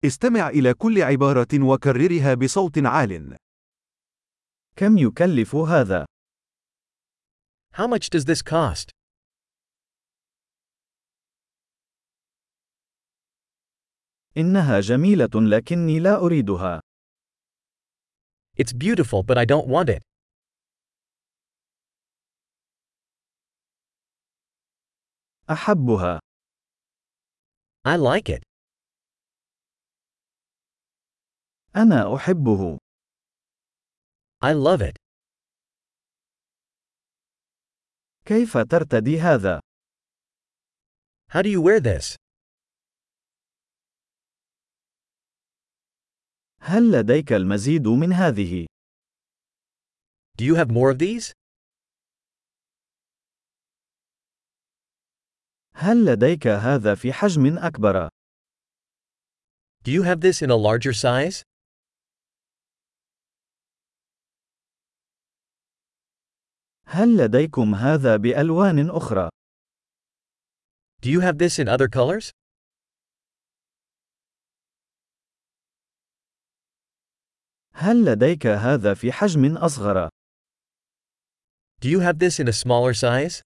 استمع إلى كل عبارة وكررها بصوت عال. كم يكلف هذا؟ How much does this cost? إنها جميلة لكني لا أريدها. It's beautiful but I don't want it. أحبها. I like it. أنا أحبه. I love it. كيف ترتدي هذا؟ How do you wear this? هل لديك المزيد من هذه؟ Do you have more of these? هل لديك هذا في حجم أكبر؟ Do you have this in a larger size? هل لديكم هذا بألوان أخرى؟ Do you have this in other colors? هل لديك هذا في حجم أصغر؟ Do you have this in a smaller size?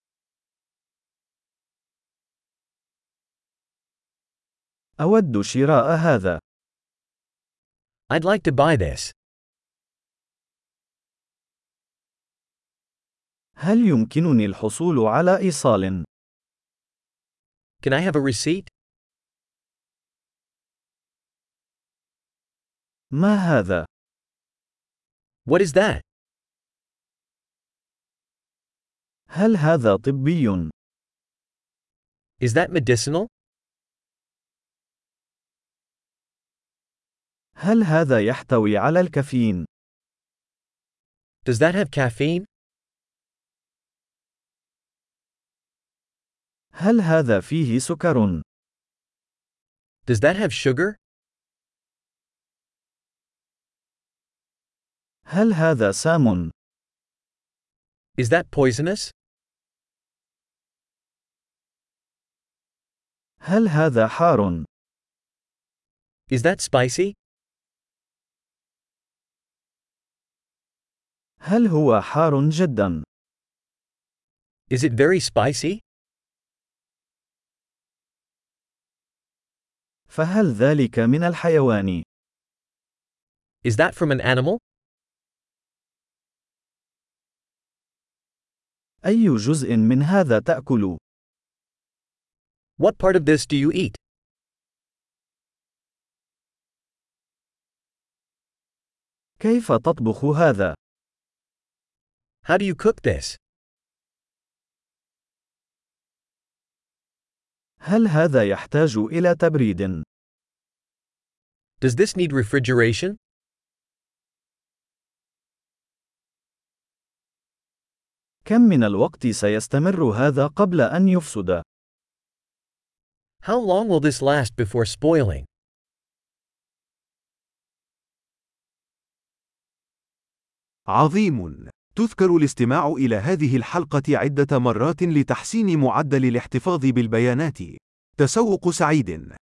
أود شراء هذا. I'd like to buy this. هل يمكنني الحصول على إيصال؟ Can I have a receipt? ما هذا؟ What is that? هل هذا طبي؟ Is that medicinal? هل هذا يحتوي على الكافيين؟ Does that have caffeine? هل هذا فيه سكر؟ Does that have sugar? هل هذا سام؟ Is that poisonous? هل هذا حار؟ Is that spicy? هل هو حار جدا؟ Is it very spicy? فهل ذلك من الحيوان؟ Is that from an animal? أي جزء من هذا تأكل؟ What part of this do you eat? كيف تطبخ هذا؟ How do you cook this? هل هذا يحتاج إلى تبريد؟ Does this need refrigeration? كم من الوقت سيستمر هذا قبل أن يفسد؟ How long will this last before spoiling? عظيم! تذكر الاستماع إلى هذه الحلقة عدة مرات لتحسين معدل الاحتفاظ بالبيانات. تسوق سعيد!